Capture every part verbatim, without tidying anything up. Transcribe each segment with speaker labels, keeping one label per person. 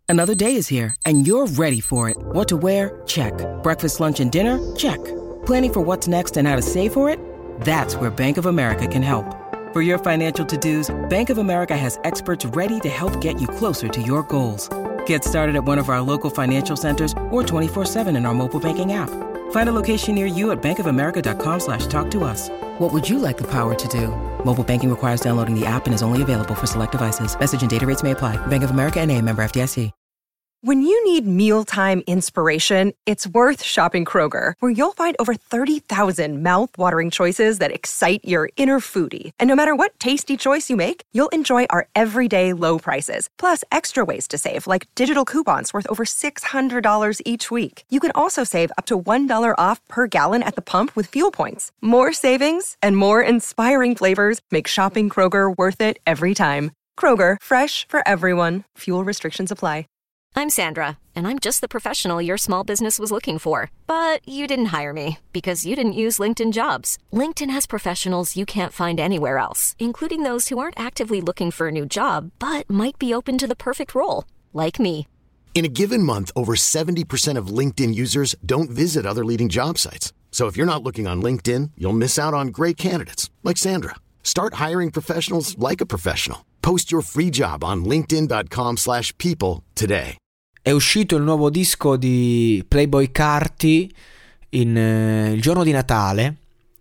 Speaker 1: Another day is here, and you're ready for it. What to wear? Check. Breakfast, lunch, and dinner? Check. Planning for what's next and how to save for it? That's where Bank of America can help. For your financial to-dos, Bank of America has experts ready to help get you closer to your goals. Get started at one of our local financial centers or twenty-four seven in our mobile banking app. Find a location near you at bankofamerica.com slash talk to us. What would you like the power to do? Mobile banking requires downloading the app and is only available for select devices. Message and data rates may apply. Bank of America N A, member F D I C.
Speaker 2: When you need mealtime inspiration, it's worth shopping Kroger, where you'll find over thirty thousand mouth-watering choices that excite your inner foodie. And no matter what tasty choice you make, you'll enjoy our everyday low prices, plus extra ways to save, like digital coupons worth over six hundred dollars each week. You can also save up to one dollar off per gallon at the pump with fuel points. More savings and more inspiring flavors make shopping Kroger worth it every time. Kroger, fresh for everyone. Fuel restrictions apply.
Speaker 3: I'm Sandra, and I'm just the professional your small business was looking for. But you didn't hire me because you didn't use LinkedIn Jobs. LinkedIn has professionals you can't find anywhere else, including those who aren't actively looking for a new job, but might be open to the perfect role, like me.
Speaker 4: In a given month, over seventy percent of LinkedIn users don't visit other leading job sites. So if you're not looking on LinkedIn, you'll miss out on great candidates, like Sandra. Start hiring professionals like a professional. Post your free job on linkedin.com slash people today.
Speaker 5: È uscito il nuovo disco di Playboi Carti in, eh, il giorno di Natale,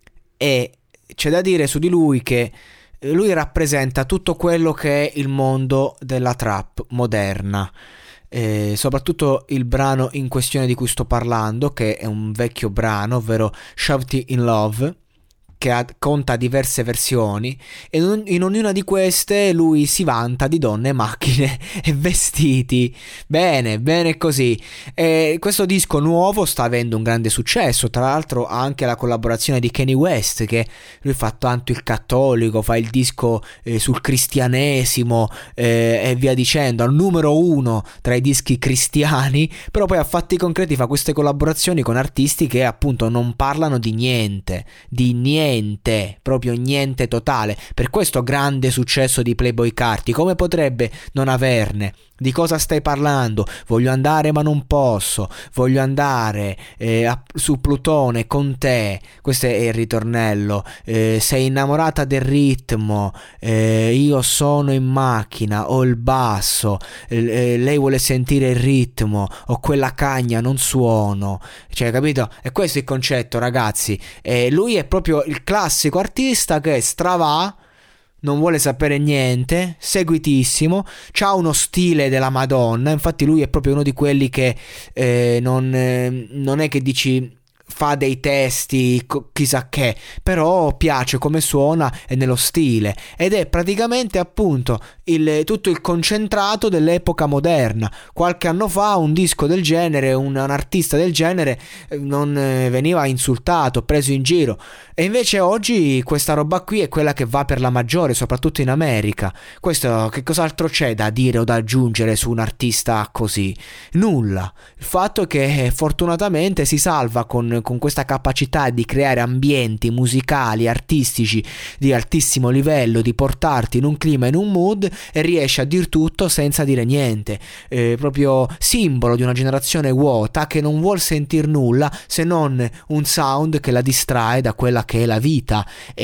Speaker 5: e c'è da dire su di lui che lui rappresenta tutto quello che è il mondo della trap moderna. Eh, soprattutto il brano in questione di cui sto parlando, che è un vecchio brano, ovvero Shawty in Love, che ha, conta diverse versioni, e in, in ognuna di queste lui si vanta di donne, macchine e vestiti. Bene, bene così. E questo disco nuovo sta avendo un grande successo, tra l'altro ha anche la collaborazione di Kanye West, che lui fa tanto il cattolico, fa il disco eh, sul cristianesimo eh, e via dicendo, al numero uno tra i dischi cristiani, però poi a fatti concreti fa queste collaborazioni con artisti che appunto non parlano di niente, di niente Niente, proprio niente totale. Per questo grande successo di Playboi Carti. Come potrebbe non averne? Di cosa stai parlando? Voglio andare ma non posso. Voglio andare eh, a, su Plutone con te. Questo è il ritornello. Eh, sei innamorata del ritmo. Eh, io sono in macchina. Ho il basso. Eh, lei vuole sentire il ritmo. Ho quella cagna, non suono. Cioè, capito? E questo è il concetto, ragazzi. Eh, lui è proprio il classico artista che stravà, non vuole sapere niente, seguitissimo, c'ha uno stile della Madonna. Infatti lui è proprio uno di quelli che eh, non, eh, non è che dici fa dei testi chissà che, però piace come suona e nello stile, ed è praticamente appunto il, tutto il concentrato dell'epoca moderna. Qualche anno fa un disco del genere, un, un artista del genere non eh, veniva insultato, preso in giro, e invece oggi questa roba qui è quella che va per la maggiore, soprattutto in America. Questo, che cos'altro c'è da dire o da aggiungere su un artista così? Nulla. Il fatto è che fortunatamente si salva con con questa capacità di creare ambienti musicali, artistici di altissimo livello, di portarti in un clima, in un mood, e riesce a dir tutto senza dire niente. Eh, proprio simbolo di una generazione vuota che non vuol sentir nulla se non un sound che la distrae da quella che è la vita,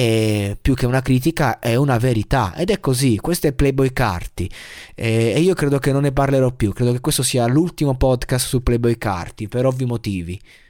Speaker 5: e più che una critica è una verità, ed è così. Questo è Playboi Carti, eh, e io credo che non ne parlerò più. Credo che questo sia l'ultimo podcast su Playboi Carti per ovvi motivi.